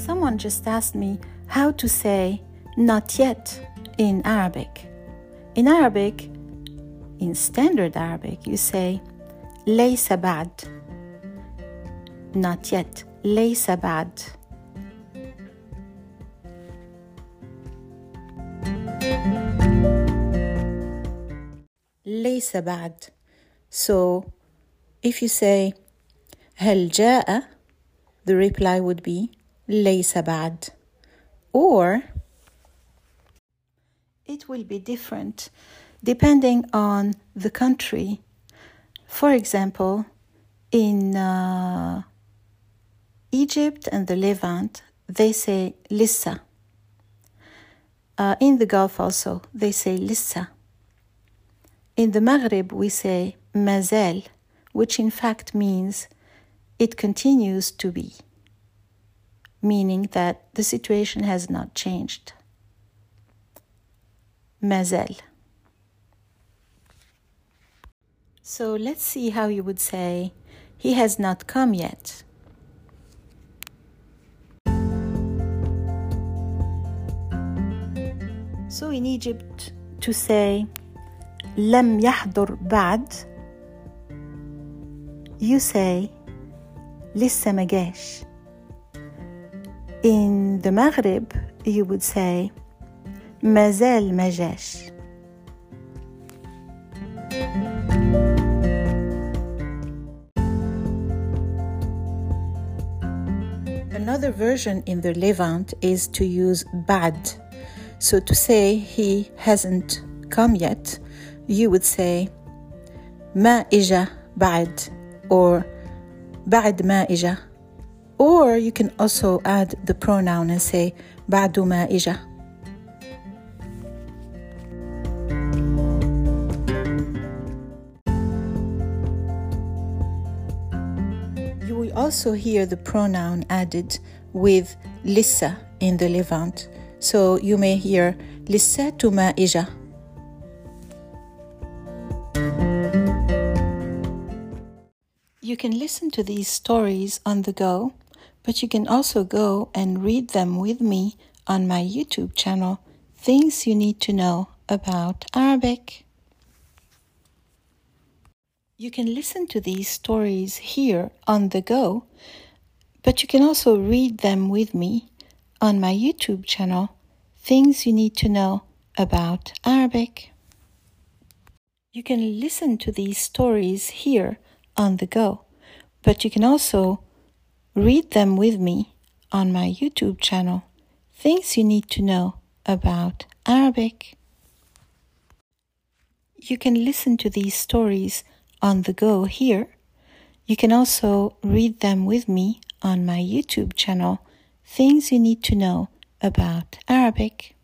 Someone just asked me how to say not yet in Arabic. In Arabic, in standard Arabic, you say ليس بعد. Not yet. ليس بعد. ليس بعد. So, if you say هل جاء, the reply would be ليس بعد. Or it will be different depending on the country. For example, in Egypt and the Levant, they say لسه. In the Gulf also, they say لسه. In the Maghrib, we say ما زال, which in fact means it continues to be, meaning that the situation has not changed. ما زال. So let's see how you would say, he has not come yet. So in Egypt, to say لم يحضر بعد, you say لسه ما جاش. In the Maghrib, you would say ما زال ما جاش. Another version in the Levant is to use بعد. So to say he hasn't come yet, you would say ما إجا بعد, or بعد ما إجا. Or you can also add the pronoun and say بعد ما إجا. You will also hear the pronoun added with لسه in the Levant. So you may hear لسه ما إجا. You can listen to these stories on the go, but you can also go and read them with me on my YouTube channel, Things You Need to Know About Arabic. You can listen to these stories here on the go, but you can also read them with me on my YouTube channel, Things You Need to Know About Arabic. You can listen to these stories here on the go, but you can also read them with me on my YouTube channel, Things You Need to Know About Arabic. You can listen to these stories on the go here. You can also read them with me on my YouTube channel, Things You Need to Know About Arabic.